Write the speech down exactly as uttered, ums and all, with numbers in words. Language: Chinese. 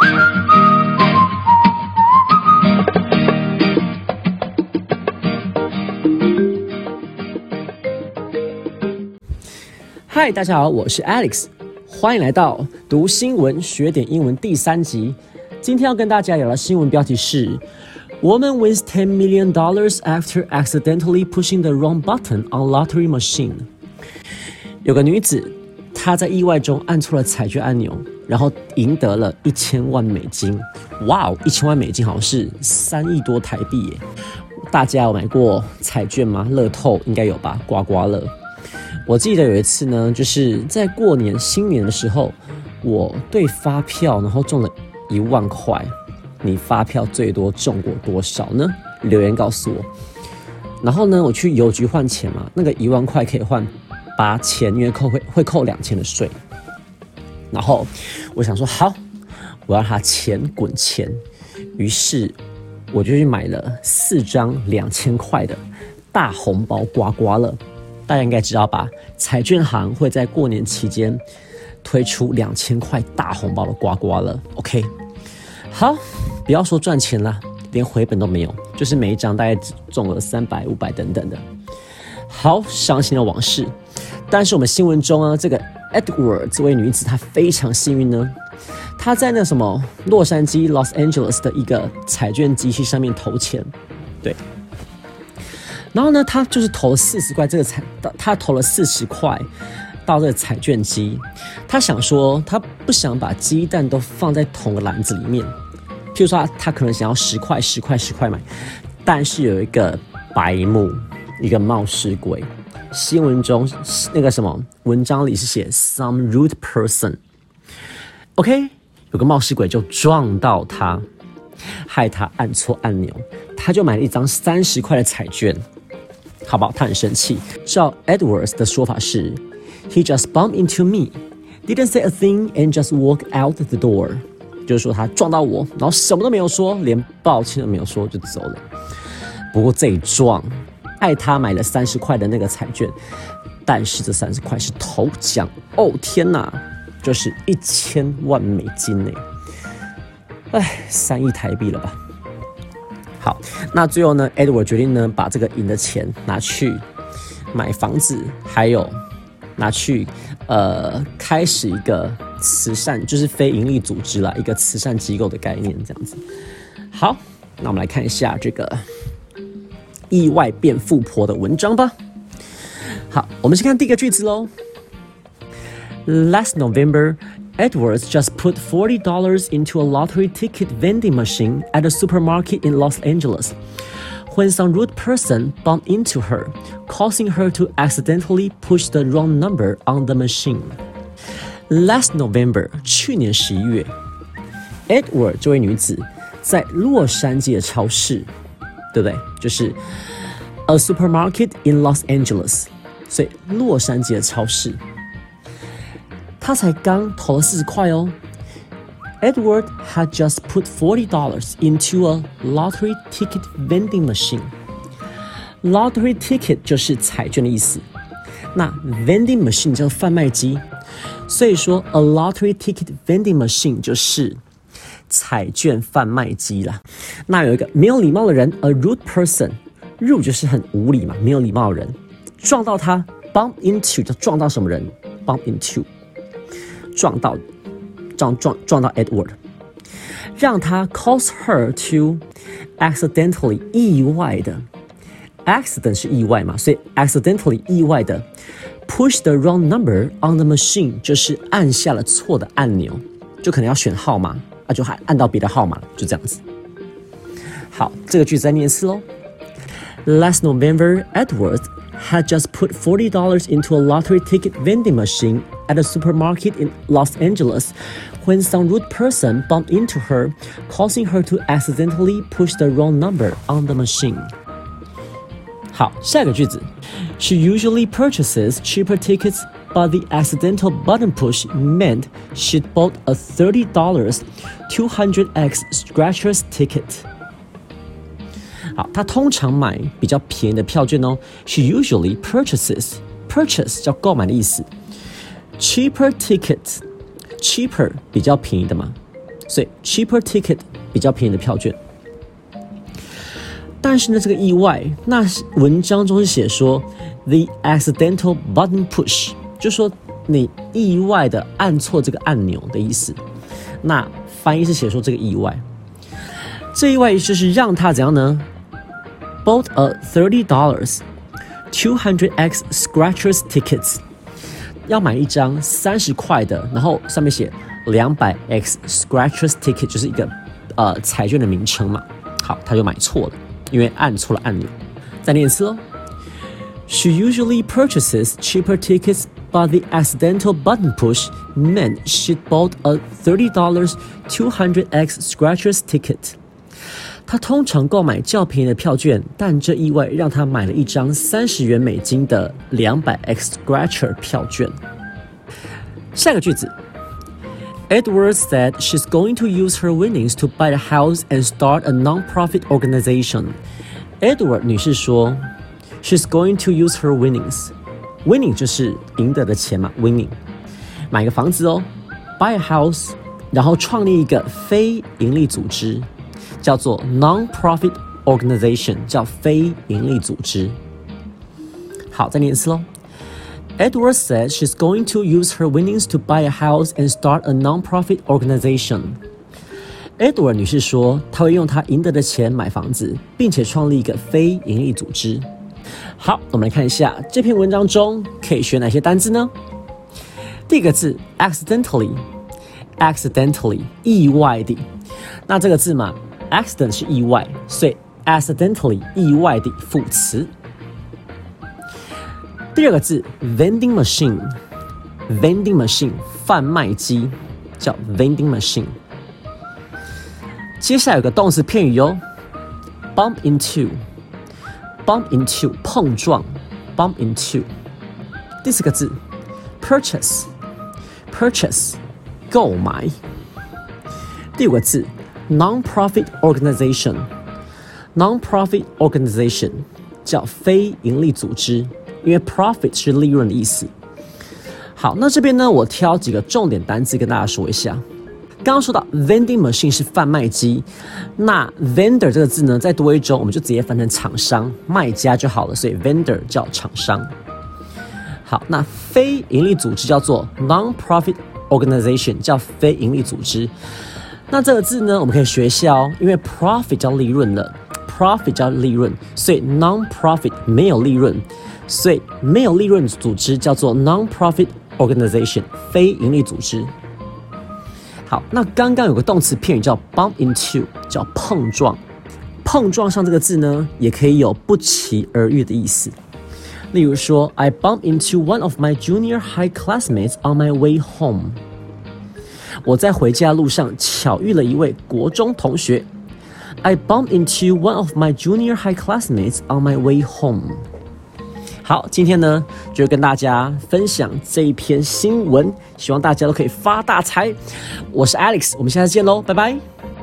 嗨，大家好，我是 Alex， 欢迎来到读新闻学点英文第三集。今天要跟大家聊的新闻标题是 Woman wins ten million dollars after accidentally pushing the wrong button on lottery machine。 有个女子，她在意外中按错了彩券按钮，然后赢得了一千万美金。哇哦，一千万美金好像是三亿多台币耶！大家有买过彩券吗？乐透应该有吧，刮刮乐。我记得有一次呢，就是在过年新年的时候，我对发票然后中了一万块。你发票最多中过多少呢？留言告诉我。然后呢，我去邮局换钱嘛，那个一万块可以换八千，因为扣会会扣两千的税。然后我想说，好，我要让它钱滚钱。于是我就去买了四张两千块的大红包刮刮乐。大家应该知道吧？彩券行会在过年期间推出两千块大红包的刮刮乐。OK， 好，不要说赚钱啦，连回本都没有，就是每一张大概只中了三百、五百等等的。好伤心的往事。但是我们新闻中啊，这个 Edward 这位女子她非常幸运呢，她在那什么洛杉矶 Los Angeles 的一个彩券机器上面投钱，对。然后呢，他就是投了四十块，这个彩，他投了四十块到这个彩券机。他想说，他不想把鸡蛋都放在同个篮子里面。譬如说他，他可能想要十块、十块、十块买，但是有一个白目，一个冒失鬼。新闻中那个什么文章里是写 some rude person。OK， 有个冒失鬼就撞到他，害他按错按钮，他就买了一张三十块的彩券。好吧，他很生气。照 Edwards 的说法是 ，He just bumped into me, didn't say a thing and just walked out the door。就是说他撞到我，然后什么都没有说，连抱歉都没有说就走了。不过这一撞，害他买了三十块的那个彩券，但是这三十块是头奖哦！天哪，就是一千万美金呢！哎，三亿台币了吧？好，那最后呢 ，Edward 决定呢，把这个赢的钱拿去买房子，还有拿去呃开始一个慈善，就是非营利组织啦，一个慈善机构的概念这样子。好，那我们来看一下这个意外变富婆的文章吧。好，我们先看第一个句子喽。Last November.Edwards just put forty dollars into a lottery ticket vending machine at a supermarket in Los Angeles when some rude person bumped into her, causing her to accidentally push the wrong number on the machine. Last November, 去年十一月 Edward 这位女子在洛杉矶的超市，对不对？就是 a supermarket in Los Angeles， 所以洛杉矶的超市。他才刚投了四十块哦。Edward had just put forty dollars into a lottery ticket vending machine. Lottery ticket 就是彩券的意思。那 vending machine 叫贩卖机，所以说 a lottery ticket vending machine 就是彩券贩卖机啦。那有一个没有礼貌的人 ，a rude person，rude 就是很无礼嘛，没有礼貌的人，撞到他 ，bump into 就撞到什么人 ，bump into。撞到，撞撞撞到 Edward， 让他 cause her to accidentally 意外的 ，accident 是意外嘛，所以 accidentally 意外的 push the wrong number on the machine 就是按下了错的按钮，就可能要选号码，啊就还按到别的号码了，就这样子。好，这个句子再念一次喽。Last November, Edwards had just put forty dollars into a lottery ticket vending machine at a supermarket in Los Angeles when some rude person bumped into her, causing her to accidentally push the wrong number on the machine. 好，下一个句子 She usually purchases cheaper tickets, but the accidental button push meant she'd bought a thirty dollars two hundred X scratchers ticket. 好，她通常买比较便宜的票券哦。She usually purchases purchase 叫购买的意思。Cheaper tickets cheaper 比较便宜的嘛， 所以 cheaper ticket 比较便宜的票券。但是呢，这个意外，那文章中是写说 the accidental button push， 就说你意外的按错这个按钮的意思。那翻译是写说这个意外，这意外就是让他怎样呢 ？Bought a thirty dollars two hundred x scratchers tickets， 要买一张三十块的，然后上面写两百 x scratchers ticket， 就是一个呃彩券的名称嘛。好，他就买错了，因为按错了按钮。再念一次喽。She usually purchases cheaper tickets, but the accidental button push meant she'd bought a thirty dollars two hundred x scratchers ticket. 她通常购买较便宜的票券，但这意外让她买了一张三十元美金的两百 x scratcher 票券。下个句子 Edwards said she's going to use her winnings to buy a house and start a non-profit organization. Edward 女士说She's going to use her winnings. Winning 就是赢得的钱嘛 ，winning。买个房子哦 ，buy a house， 然后创立一个非营利组织，叫做 non-profit organization， 叫非营利组织。好，再念一次喽。Edward said she's going to use her winnings to buy a house and start a non-profit organization. Edward 女士说，她会用她赢得的钱买房子，并且创立一个非营利组织。好，我们来看一下这篇文章中可以学哪些单字呢？第一个字 accidentally， accidentally 意外的。那这个字嘛 ，accident 是意外，所以 accidentally 意外的副词。第二个字 vending machine， vending machine 贩卖机叫 vending machine。接下来有个动词片语哦 ，bump into。Bump into 碰撞 ，bump into。第四个字 purchase purchase 购买。第五个字 non-profit organization non-profit organization 叫非营利组织，因为 profit 是利润的意思。好，那这边呢，我挑几个重点单字跟大家说一下。刚刚说到 vending machine 是贩卖机，那 vendor 这个字呢，再多一周我们就直接翻成厂商、卖家就好了，所以 vendor 叫厂商。好，那非营利组织叫做 non-profit organization， 叫非营利组织。那这个字呢，我们可以学一下哦，因为 profit 叫利润了 ，profit 叫利润，所以 non-profit 没有利润，所以没有利润组织叫做 non-profit organization， 非营利组织。好，那刚刚有个动词片语叫 bump into， 叫碰撞。碰撞上这个字呢，也可以有不期而遇的意思。例如说 ，I bumped into one of my junior high classmates on my way home。我在回家路上巧遇了一位国中同学。I bumped into one of my junior high classmates on my way home。好，今天呢就跟大家分享这一篇新闻，希望大家都可以发大财。我是 Alex， 我们下次见喽，拜拜。